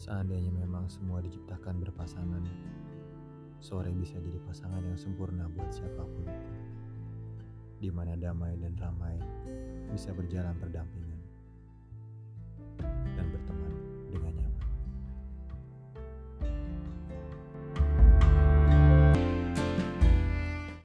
Seandainya memang semua diciptakan berpasangan, sore bisa jadi pasangan yang sempurna buat siapapun, di mana damai dan ramai bisa berjalan berdampingan.